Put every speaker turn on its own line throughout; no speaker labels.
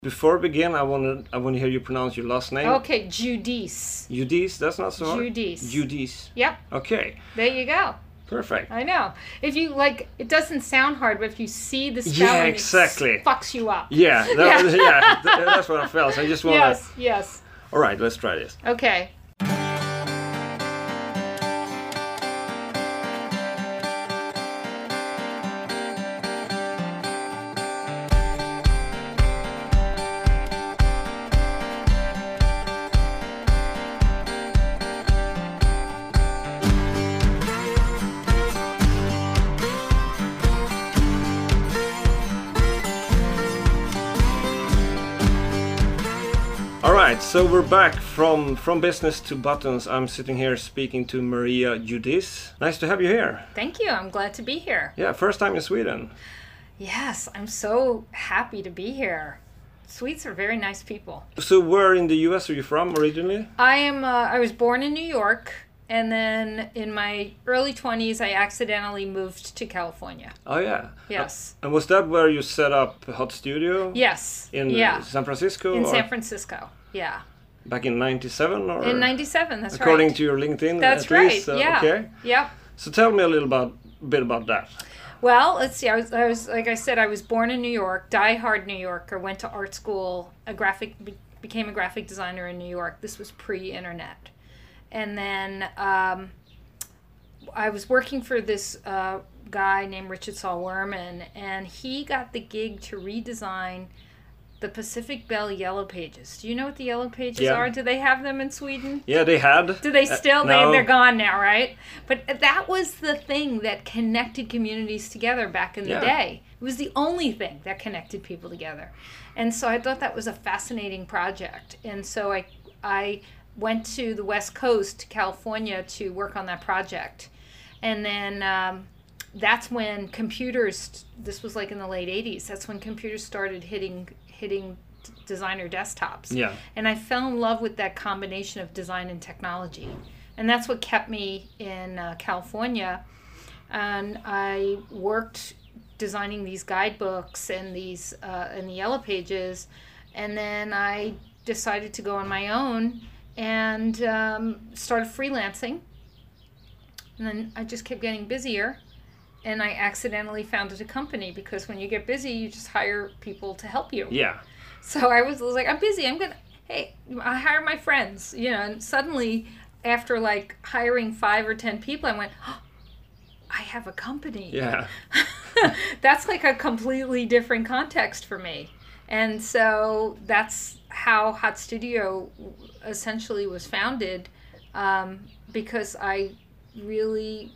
Before we begin, I want to hear you pronounce your last name.
Okay, Giudice.
Giudice, that's not so hard.
Giudice.
Giudice.
Yep.
Okay.
There you go.
Perfect.
I know. If you it doesn't sound hard, but if you see the spelling,
exactly.
It fucks you up.
Yeah, that's what I felt. So I just want to.
Yes.
All right, let's try this.
Okay.
Alright, so we're back from business to buttons. I'm sitting here speaking to Maria Giudice. Nice to have you here.
Thank you. I'm glad to be here.
Yeah, first time in Sweden.
Yes, I'm so happy to be here. Swedes are very nice people.
So where in the US are you from originally?
I was born in New York, and then in my early 20s I accidentally moved to California.
Oh yeah.
Yes.
And was that where you set up Hot Studio?
Yes.
In San Francisco?
In San Francisco, yeah.
Back in 97 or?
In 97, that's
according
right.
to your LinkedIn,
that's
at
right.
least.
Yeah.
Okay.
Yep.
So tell me a bit about that.
Well, let's see. I was like I said, I was born in New York, diehard New Yorker. Went to art school, became a graphic designer in New York. This was pre-internet, and then I was working for this guy named Richard Saul Wurman, and he got the gig to redesign the Pacific Bell Yellow Pages. Do you know what the Yellow Pages are? Do they have them in Sweden?
Yeah, they had.
Do they still?
No.
They're gone now, right? But that was the thing that connected communities together back in the day. It was the only thing that connected people together. And so I thought that was a fascinating project. And so I went to the West Coast, California, to work on that project. And then that's when computers, this was like in the late 80s, that's when computers started hitting designer desktops.
Yeah.
And I fell in love with that combination of design and technology. And that's what kept me in California. And I worked designing these guidebooks and these and the Yellow Pages. And then I decided to go on my own and started freelancing. And then I just kept getting busier. And I accidentally founded a company because when you get busy, you just hire people to help you.
Yeah.
So I was like, I'm busy. I hire my friends, and suddenly after like hiring 5 or 10 people, I went, oh, I have a company.
Yeah.
That's like a completely different context for me. And so that's how Hot Studio essentially was founded, because I really,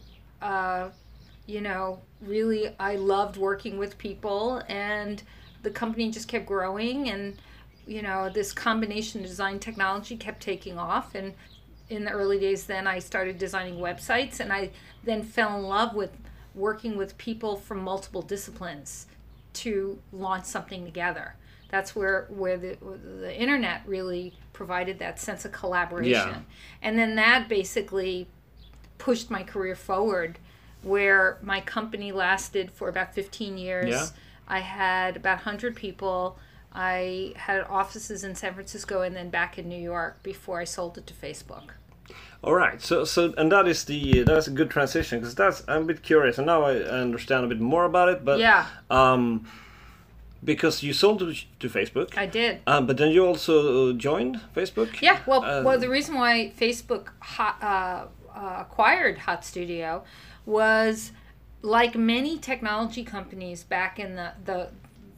I loved working with people, and the company just kept growing, and this combination of design technology kept taking off. And in the early days then I started designing websites, and I then fell in love with working with people from multiple disciplines to launch something together. That's where the internet really provided that sense of collaboration.
Yeah.
And then that basically pushed my career forward, where my company lasted for about 15 years.
Yeah.
I had about 100 people. I had offices in San Francisco and then back in New York before I sold it to Facebook.
All right. So and that's a good transition, because I'm a bit curious, and now I understand a bit more about it. But
yeah.
Because you sold it to Facebook.
I did.
But then you also joined Facebook?
Yeah. Well, the reason why Facebook acquired Hot Studio was, like many technology companies back in the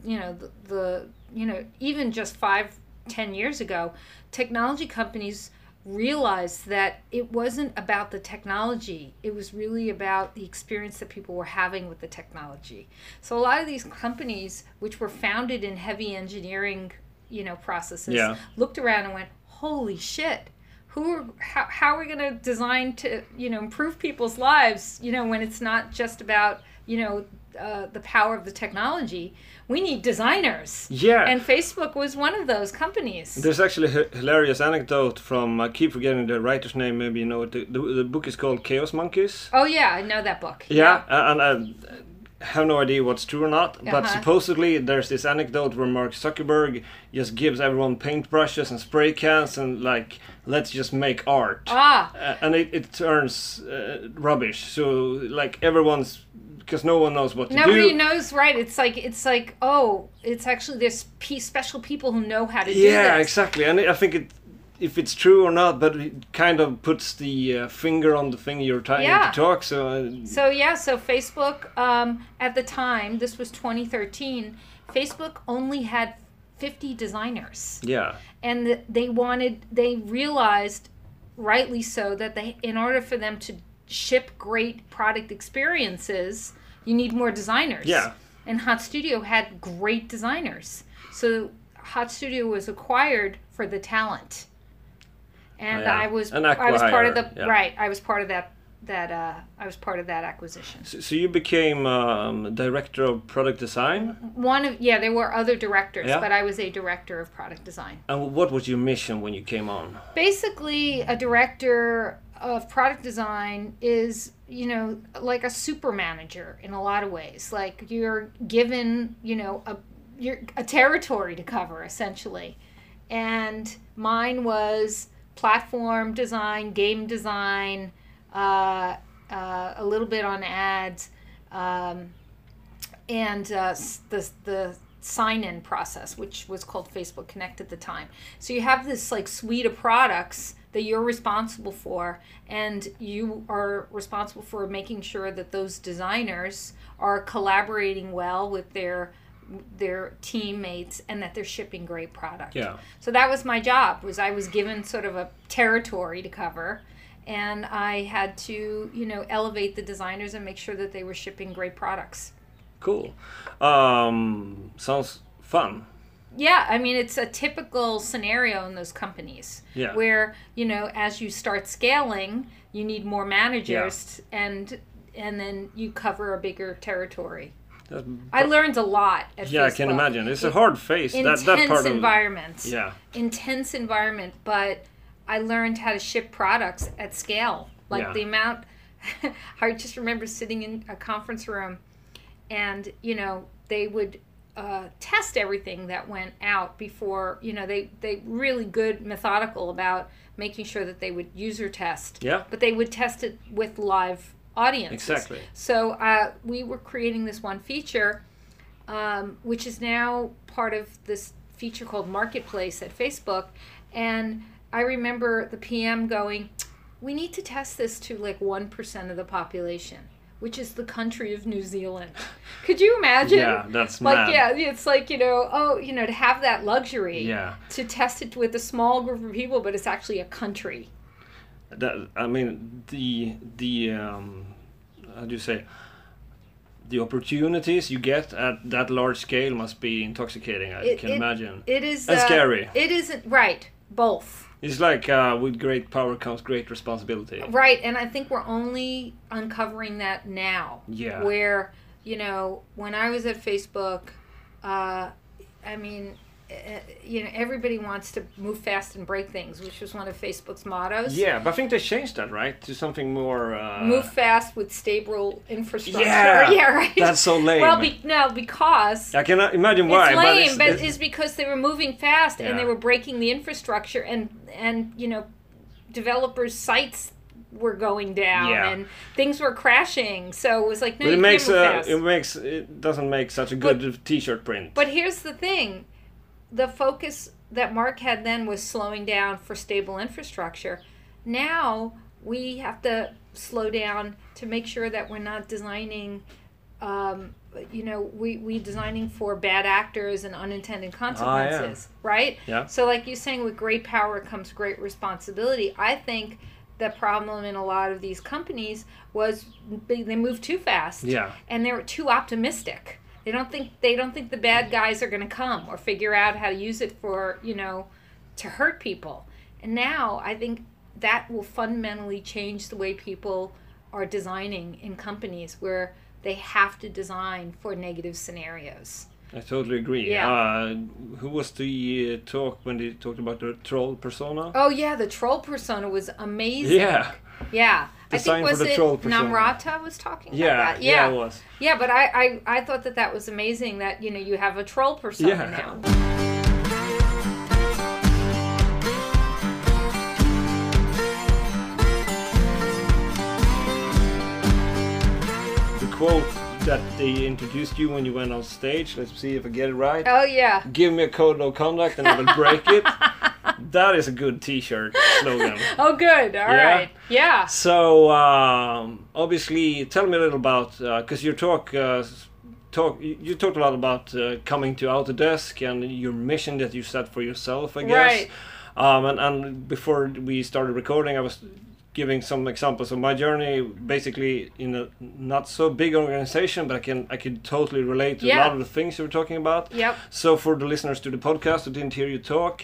even just 5-10 years ago, technology companies realized that it wasn't about the technology. It was really about the experience that people were having with the technology. So a lot of these companies, which were founded in heavy engineering, processes, looked around and went, holy shit, how are we going to design to, improve people's lives, when it's not just about, the power of the technology. We need designers.
Yeah.
And Facebook was one of those companies.
There's actually a hilarious anecdote from, I keep forgetting the writer's name, maybe you know it. The book is called Chaos Monkeys.
Oh yeah, I know that book.
Yeah. And have no idea what's true or not, but supposedly there's this anecdote where Mark Zuckerberg just gives everyone paintbrushes and spray cans and like, let's just make art. And it turns rubbish. So like everyone's, because no one knows what to do.
Nobody knows, right? It's like, oh, it's actually there's special people who know how to do this.
Yeah, exactly. And I think if it's true or not, but it kind of puts the finger on the thing you're trying to talk. So
Facebook, at the time, this was 2013, Facebook only had 50 designers.
Yeah.
And they realized, rightly so, that in order for them to ship great product experiences, you need more designers.
Yeah.
And Hot Studio had great designers. So Hot Studio was acquired for the talent. And I was part of the I was part of that acquisition.
So you became director of product design?
There were other directors, but I was a director of product design.
And what was your mission when you came on?
Basically, a director of product design is, like a super manager in a lot of ways. Like you're given, a territory to cover essentially. And mine was platform design, game design, a little bit on ads, and the sign-in process, which was called Facebook Connect at the time. So you have this like suite of products that you're responsible for, and you are responsible for making sure that those designers are collaborating well with their teammates and that they're shipping great product.
Yeah.
So that was my job. I was given sort of a territory to cover, and I had to, elevate the designers and make sure that they were shipping great products.
Cool. Sounds fun.
Yeah, I mean, it's a typical scenario in those companies where, as you start scaling, you need more managers and then you cover a bigger territory. I learned a lot at Facebook.
I can imagine. It's a hard phase.
Intense
that part of
environment.
Yeah.
Intense environment, but I learned how to ship products at scale. Like the amount, I just remember sitting in a conference room and, they would test everything that went out before, they really good, methodical about making sure that they would user test.
Yeah.
But they would test it with live audiences.
Exactly.
So we were creating this one feature, which is now part of this feature called Marketplace at Facebook. And I remember the PM going, we need to test this to like 1% of the population, which is the country of New Zealand. Could you imagine?
Yeah, that's
like,
mad.
Yeah, it's like, to have that luxury to test it with a small group of people, but it's actually a country.
I mean, the how do you say? The opportunities you get at that large scale must be intoxicating. I can imagine.
It is.
And scary.
It isn't right. Both.
It's like with great power comes great responsibility.
Right, and I think we're only uncovering that now.
Yeah.
Where when I was at Facebook, everybody wants to move fast and break things, which was one of Facebook's mottos.
Yeah, but I think they changed that, right? To something more...
move fast with stable infrastructure.
Yeah,
yeah, right.
That's so lame.
Well, because...
I cannot imagine why.
It's lame, but it's because they were moving fast and they were breaking the infrastructure and developers' sites were going down and things were crashing. So it was like, no, you can't move fast.
It doesn't make such a good t-shirt print.
But here's the thing. The focus that Mark had then was slowing down for stable infrastructure. Now we have to slow down to make sure that we're not designing, we designing for bad actors and unintended consequences, right?
Yeah.
So like you're saying, with great power comes great responsibility. I think the problem in a lot of these companies was they moved too fast.
Yeah.
And they were too optimistic. They don't think the bad guys are going to come or figure out how to use it for, to hurt people. And now I think that will fundamentally change the way people are designing in companies where they have to design for negative scenarios.
I totally agree.
Yeah.
Who was the talk when they talked about the troll persona?
Oh yeah, the troll persona was amazing.
Yeah.
Yeah.
Design
I think
for the troll persona.
Namrata was talking about that. Yeah.
Yeah, it was.
Yeah, but I thought that was amazing that, you know, you have a troll persona now.
The quote that they introduced you when you went on stage, let's see if I get it right.
Oh yeah.
Give me a code of conduct and I will break it. That is a good t-shirt slogan.
Oh good, all right. Yeah.
So obviously tell me a little about, because you talked a lot about coming to Autodesk and your mission that you set for yourself, I guess.
Right.
And before we started recording, I was giving some examples of my journey, basically in a not so big organization, but I could totally relate to a lot of the things you were talking about.
Yep.
So for the listeners to the podcast who didn't hear you talk,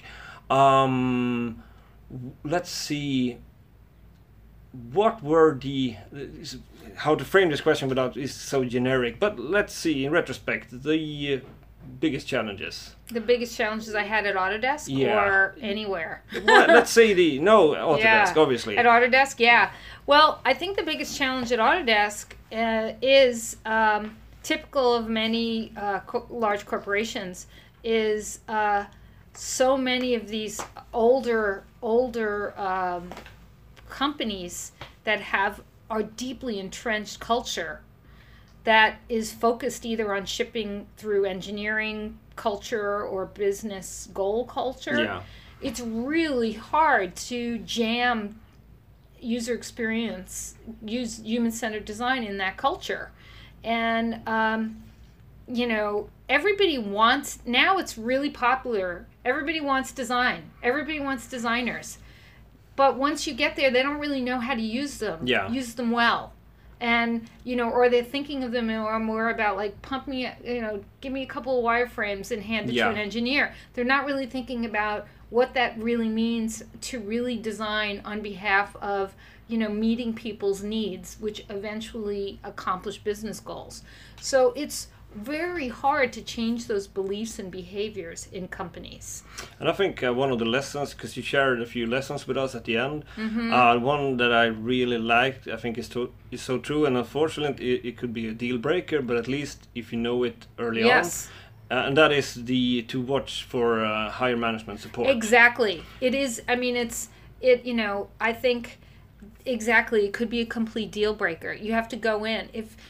let's see, what were how to frame this question without is so generic, but let's see in retrospect the biggest challenges.
The biggest challenges I had at Autodesk or anywhere?
Well, let's say Autodesk, obviously.
At Autodesk, yeah. Well, I think the biggest challenge at Autodesk is typical of many large corporations is so many of these older companies that are deeply entrenched culture that is focused either on shipping through engineering culture or business goal culture.
Yeah.
It's really hard to jam user experience, use human-centered design in that culture. And, you know, everybody wants, now it's really popular. Everybody wants design. Everybody wants designers. But once you get there, they don't really know how to use them. Use them well. And, you know, or they're thinking of them more about like pump me, you know, give me a couple of wireframes and hand it to an engineer. They're not really thinking about what that really means to really design on behalf of, you know, meeting people's needs, which eventually accomplish business goals. So it's very hard to change those beliefs and behaviors in companies.
And I think one of the lessons, because you shared a few lessons with us at the end, one that I really liked, I think is so true, and unfortunately it could be a deal breaker, but at least if you know it early on. And that is to watch for higher management support.
Exactly. It is, I mean, you know, I think exactly, it could be a complete deal breaker. You have to go in.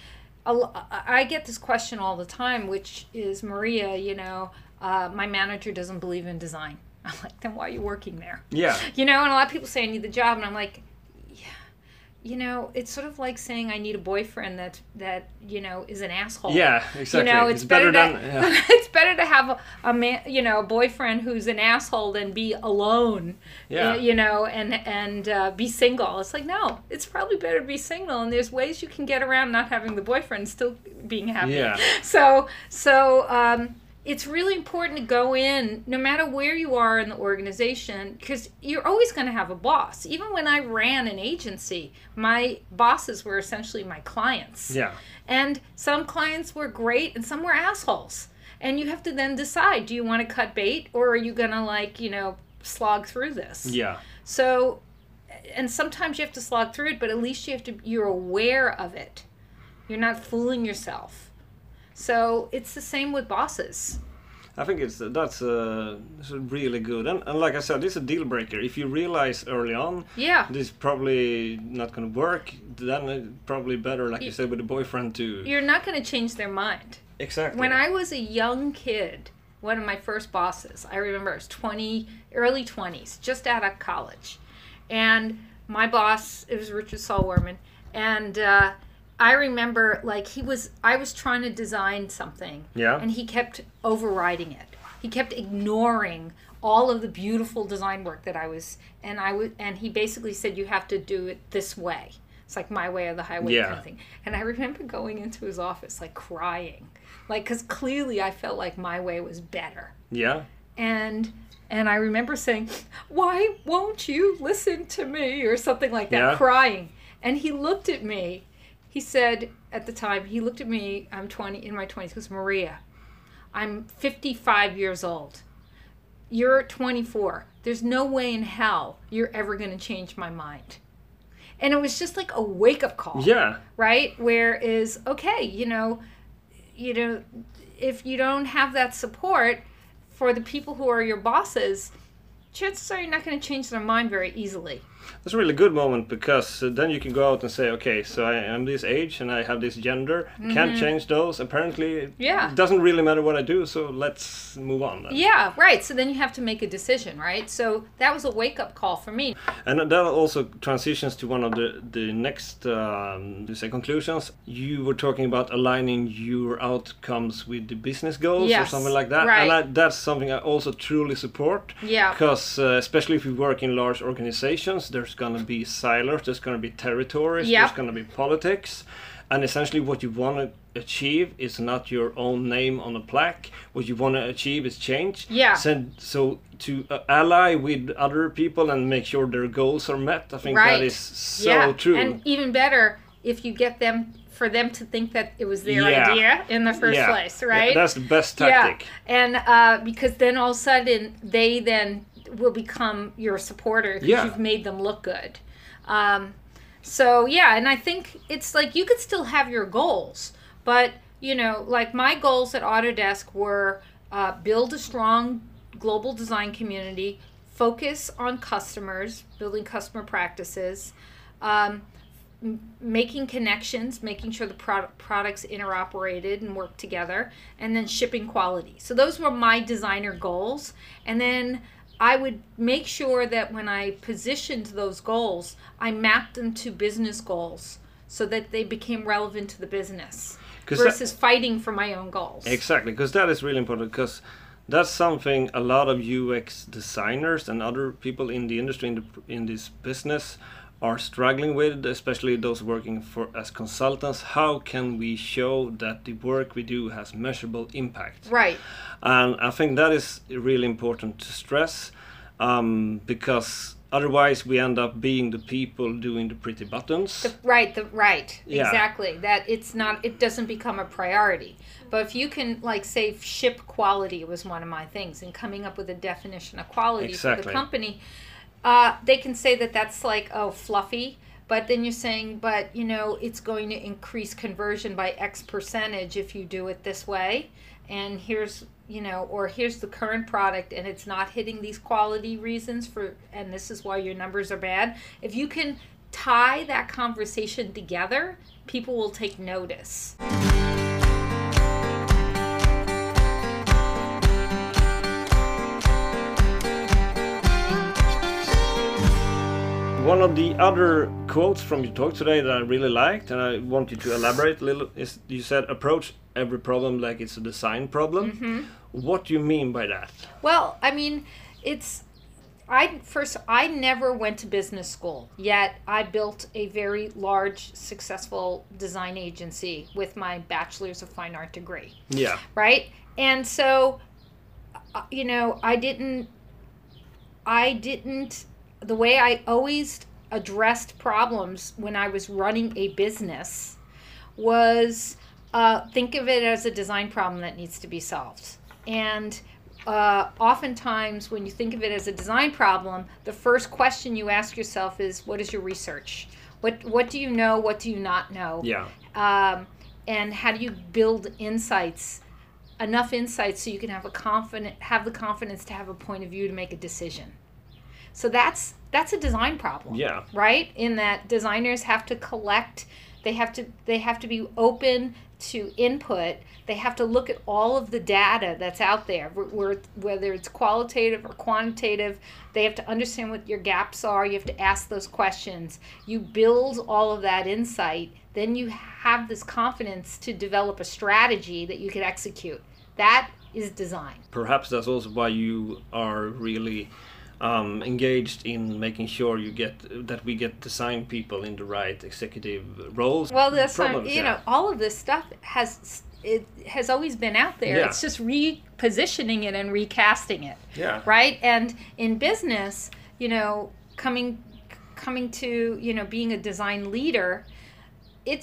I get this question all the time, which is, Maria, you know, my manager doesn't believe in design. I'm like, then why are you working there?
Yeah.
You know, and a lot of people say I need the job, and I'm like, yeah. You know, it's sort of like saying I need a boyfriend that you know, is an asshole.
Yeah, exactly.
You know, it's better it's better to have a man, you know, a boyfriend who's an asshole than be alone.
Yeah.
You know, and be single. It's like, no, it's probably better to be single, and there's ways you can get around not having the boyfriend and still being happy.
Yeah.
So it's really important to go in, no matter where you are in the organization, because you're always going to have a boss. Even when I ran an agency, my bosses were essentially my clients.
Yeah.
And some clients were great and some were assholes. And you have to then decide, do you want to cut bait, or are you going to, like, you know, slog through this?
Yeah.
So, and sometimes you have to slog through it, but at least you're aware of it. You're not fooling yourself. So it's the same with bosses.
I think that's really good, and like I said, this is a deal breaker. If you realize early on, this is probably not going to work, then it's probably better, like you said, with a boyfriend too.
You're not going to change their mind.
Exactly.
When I was a young kid, one of my first bosses, I remember I was early 20s, just out of college, and my boss, it was Richard Solwerman, and I remember, like, I was trying to design something, and he kept overriding it. He kept ignoring all of the beautiful design work that I was, and he basically said, you have to do it this way. It's like my way or the highway kind of thing. And I remember going into his office, like, crying, like, because clearly I felt like my way was better.
Yeah.
And I remember saying, why won't you listen to me, or something like that, crying. And he looked at me. He said, at the time, he looked at me, I'm 20, in my 20s, he goes, Maria, I'm 55 years old. You're 24. There's no way in hell you're ever going to change my mind. And it was just like a wake-up call.
Yeah.
Right? Whereas, okay, if you don't have that support for the people who are your bosses, chances are you're not going to change their mind very easily.
That's a really good moment, because then you can go out and say, okay, so I am this age and I have this gender, can't change those. Apparently, it doesn't really matter what I do, so let's move on then.
Yeah, right. So then you have to make a decision, right? So that was a wake-up call for me.
And that also transitions to one of the next conclusions. You were talking about aligning your outcomes with the business goals or something like that.
Right.
And that's something I also truly support.
Yeah.
Because especially if you work in large organizations, there's going to be silos, there's going to be territories, there's going to be politics. And essentially what you want to achieve is not your own name on a plaque. What you want to achieve is change.
Yeah.
So to ally with other people and make sure their goals are met, I think that is so true.
And even better, if you get for them to think that it was their idea in the first place, right?
Yeah, that's the best tactic.
Yeah. And because then all of a sudden they then will become your supporter because you've made them look good. And I think it's like you could still have your goals, but like my goals at Autodesk were build a strong global design community, focus on customers, building customer practices, making connections, making sure the products interoperated and work together, and then shipping quality. So those were my designer goals. And then I would make sure that when I positioned those goals, I mapped them to business goals so that they became relevant to the business versus fighting for my own goals.
Exactly, because that is really important, because that's something a lot of UX designers and other people in the industry, in this business, are struggling with, especially those working as consultants. How can we show that the work we do has measurable impact?
Right.
And I think that is really important to stress, because otherwise we end up being the people doing the pretty buttons.
Right. Exactly. That it doesn't become a priority. But if you can, like, say, ship quality was one of my things, and coming up with a definition of quality for the company, they can say that that's like, fluffy, but then you're saying, but it's going to increase conversion by X percentage if you do it this way, and here's the current product and it's not hitting these quality reasons and this is why your numbers are bad. If you can tie that conversation together, people will take notice.
One of the other quotes from your talk today that I really liked, and I want you to elaborate a little, is you said, approach every problem like it's a design problem. Mm-hmm. What do you mean by that?
Well, I mean, I never went to business school, yet I built a very large, successful design agency with my Bachelor's of Fine Art degree.
Yeah.
Right? And so, I didn't, the way I always addressed problems when I was running a business was think of it as a design problem that needs to be solved. And oftentimes when you think of it as a design problem, the first question you ask yourself is, what is your research? What do you know? What do you not know?
Yeah.
And how do you build enough insights so you can have the confidence to have a point of view to make a decision? So that's a design problem.
Yeah.
Right? In that designers have to collect, they have to be open to input. They have to look at all of the data that's out there, whether it's qualitative or quantitative. They have to understand what your gaps are. You have to ask those questions. You build all of that insight. Then you have this confidence to develop a strategy that you can execute. That is design.
Perhaps that's also why you are really engaged in making sure we get design people in the right executive roles.
Well, that's all of this stuff has always been out there. Yeah. It's just repositioning it and recasting it.
Yeah.
Right? And in business, coming to being a design leader, it's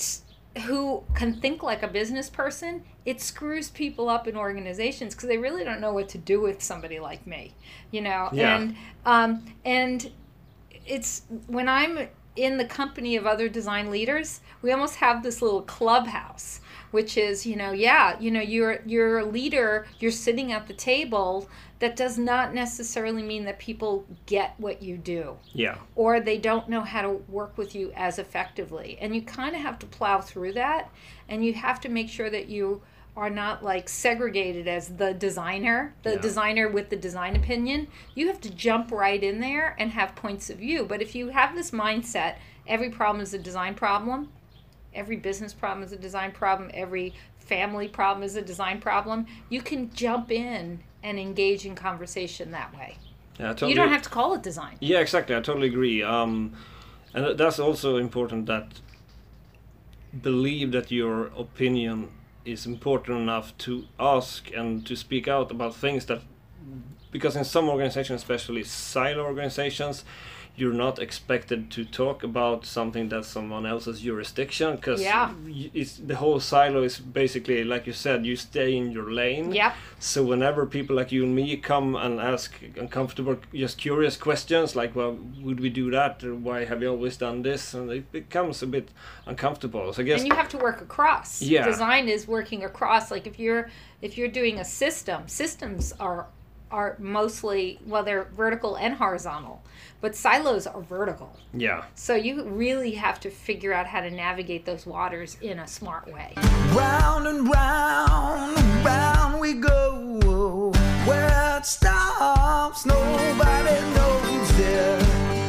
who can think like a business person, it screws people up in organizations because they really don't know what to do with somebody like me, you know.
Yeah.
And it's when I'm in the company of other design leaders, we almost have this little clubhouse, which is, you're a leader, you're sitting at the table. That does not necessarily mean that people get what you do.
Yeah.
Or they don't know how to work with you as effectively. And you kind of have to plow through that. And you have to make sure that you are not like segregated as the designer with the design opinion. You have to jump right in there and have points of view. But if you have this mindset, every problem is a design problem. Every business problem is a design problem. Every family problem is a design problem. You can jump in and engage in conversation that way.
Yeah, totally.
You don't have to call it design.
Yeah, exactly. I totally agree. And that's also important, that believe that your opinion is important enough to ask and to speak out about things that, because in some organizations, especially silo organizations, you're not expected to talk about something that's someone else's jurisdiction, because the whole silo is basically, like you said, you stay in your lane.
Yep.
So whenever people like you and me come and ask uncomfortable, just curious questions like, well, would we do that? Or why have you always done this? And it becomes a bit uncomfortable. So I guess. And
you have to work across.
Yeah.
Design is working across. Like if you're doing a system, systems are mostly, well, they're vertical and horizontal, but silos are vertical.
Yeah.
So you really have to figure out how to navigate those waters in a smart way.
Round and round and round we go. Where it stops, nobody knows it.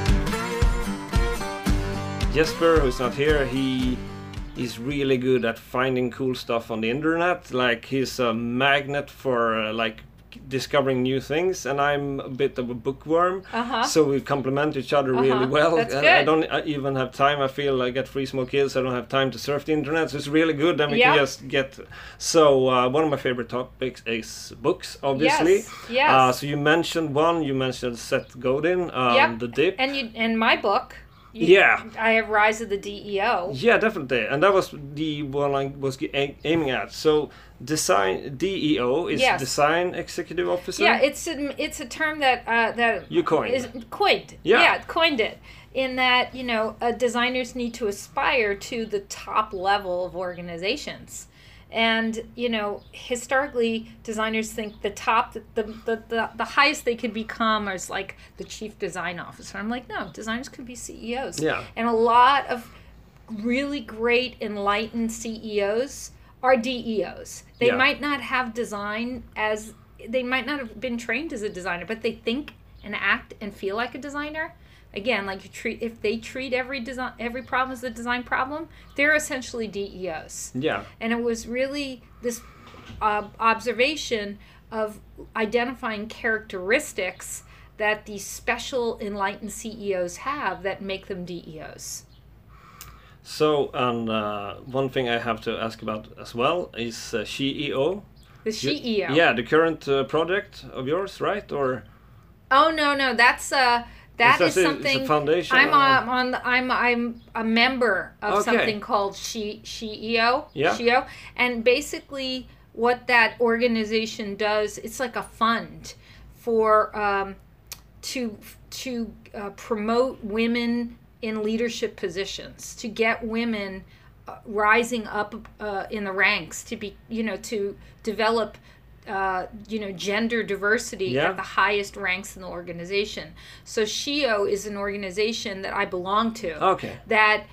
Jesper, who's not here, he's really good at finding cool stuff on the internet. Like, he's a magnet for discovering new things, and I'm a bit of a bookworm, so we complement each other really well.
That's good.
I don't even have time. I feel I get 3 small kids, I don't have time to surf the internet, so it's really good. Then we can just get. So one of my favorite topics is books, obviously.
Yes.
So you mentioned one. You mentioned Seth Godin, The Dip,
and my book. I have Rise of the DEO.
Yeah, definitely, and that was the one I was aiming at. So, DEO is Design Executive Officer.
Yeah, it's a term that
you coined.
Coined. Yeah, coined it. In that, designers need to aspire to the top level of organizations. And, historically, designers think the top, the highest they could become is like the chief design officer. I'm like, no, designers could be CEOs.
Yeah.
And a lot of really great, enlightened CEOs are DEOs. They might not have they might not have been trained as a designer, but they think and act and feel like a designer. Again, if they treat every problem as a design problem, they're essentially DEOs.
Yeah.
And it was really this observation of identifying characteristics that these special enlightened CEOs have that make them DEOs.
So, and one thing I have to ask about as well is SheEO.
The SheEO.
Yeah, the current project of yours, right? Or?
Oh no, that's that is something.
It's a foundation.
I'm a member of something called SheEO.
Yeah.
SheEO, and basically what that organization does, it's like a fund for to promote women in leadership positions, to get women rising up in the ranks, to be to develop gender diversity at the highest ranks in the organization. So SheEO is an organization that I belong to.
Okay.
That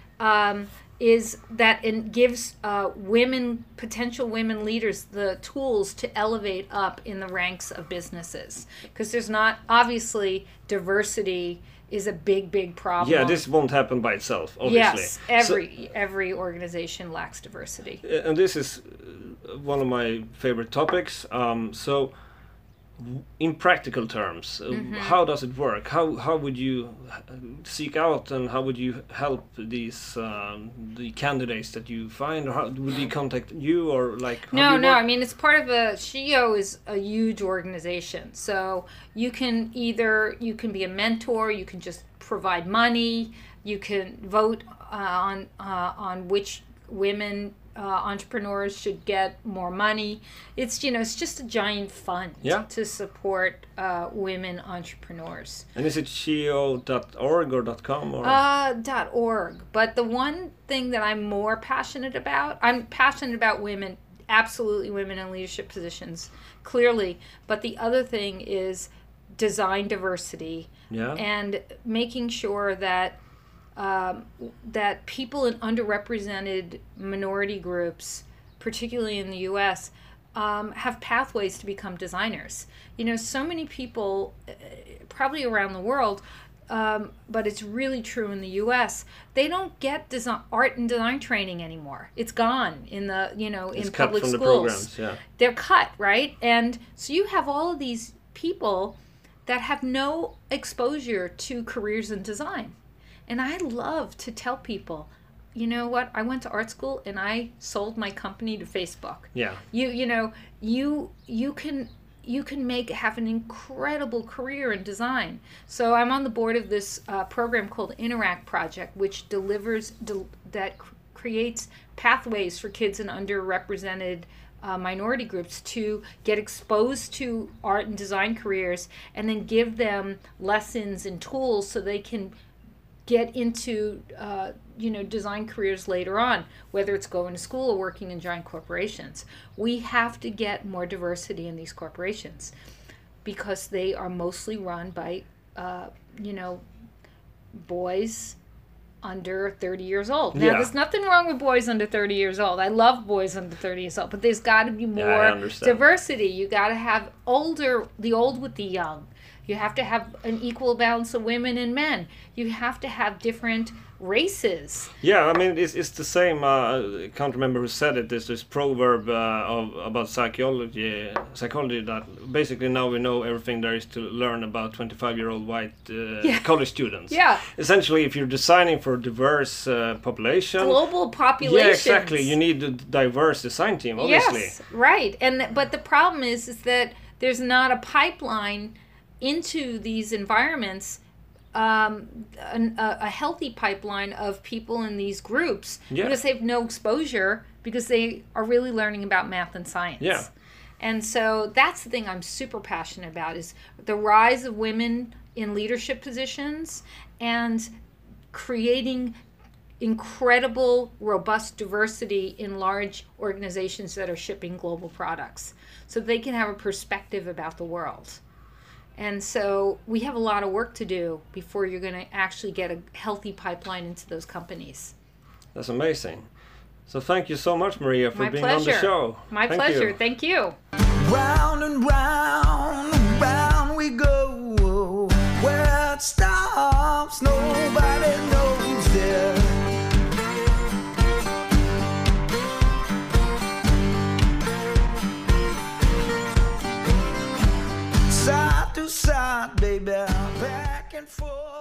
gives potential women leaders the tools to elevate up in the ranks of businesses. Because there's not, obviously, diversity is a big problem.
Yeah, this won't happen by itself, obviously.
Yes, every organization lacks diversity.
And this is one of my favorite topics. So, in practical terms, how does it work? How would you seek out, and how would you help these the candidates that you find, or how would they contact you, or like?
No. I mean, it's part of SheEO is a huge organization, so you can be a mentor, you can just provide money, you can vote on which women entrepreneurs should get more money. It's it's just a giant fund to support women entrepreneurs.
And is it sheo.org or .com or?
.org. But the one thing that I'm more passionate about women, absolutely women in leadership positions, clearly. But the other thing is design diversity and making sure that that people in underrepresented minority groups, particularly in the U.S., have pathways to become designers. So many people, probably around the world, but it's really true in the U.S., they don't get art and design training anymore. It's gone in the in public schools. The programs, they're cut, right? And so you have all of these people that have no exposure to careers in design. And I love to tell people, you know what? I went to art school and I sold my company to Facebook.
Yeah.
You can have an incredible career in design. So I'm on the board of this program called Interact Project, which creates pathways for kids in underrepresented minority groups to get exposed to art and design careers, and then give them lessons and tools so they can get into design careers later on, whether it's going to school or working in giant corporations. We have to get more diversity in these corporations because they are mostly run by boys under 30 years old. Now, there's nothing wrong with boys under 30 years old. I love boys under 30 years old, but there's got to be more diversity. You got to have the old with the young. You have to have an equal balance of women and men. You have to have different races.
Yeah, I mean, it's the same. I can't remember who said it. There's this proverb about psychology that basically now we know everything there is to learn about 25-year-old white college students.
Yeah.
Essentially, if you're designing for a diverse population.
Global populations.
Yeah, exactly. You need a diverse design team, obviously.
Yes, right. But the problem is that there's not a pipeline into these environments, a healthy pipeline of people in these groups because they have no exposure because they are really learning about math and science.
Yeah.
And so that's the thing I'm super passionate about is the rise of women in leadership positions and creating incredible, robust diversity in large organizations that are shipping global products so they can have a perspective about the world. And so we have a lot of work to do before you're going to actually get a healthy pipeline into those companies.
That's amazing. So thank you so much, Maria, for being on the show.
My pleasure. Thank you.
Round and round and round we go. Where it stops, nobody knows it. Side to side, baby, back and forth.